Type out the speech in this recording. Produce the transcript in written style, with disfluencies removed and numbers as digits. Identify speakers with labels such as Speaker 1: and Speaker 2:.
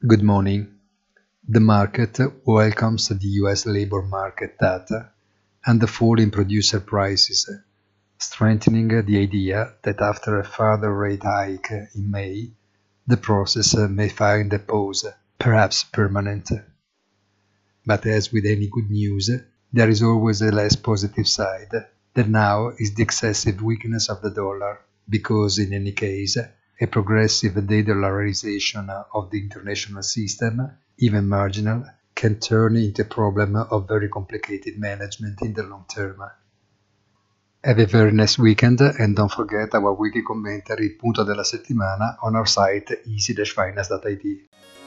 Speaker 1: Good morning. The market welcomes the US labor market data and the fall in producer prices, strengthening the idea that after a further rate hike in May, the process may find a pause, perhaps permanent. But as with any good news, there is always a less positive side, that now is the excessive weakness of the dollar, because in any case, a progressive de-dollarization of the international system, even marginal, can turn into a problem of very complicated management in the long term. Have a very nice weekend and don't forget our weekly commentary, il punto della settimana, on our site easy-finance.it.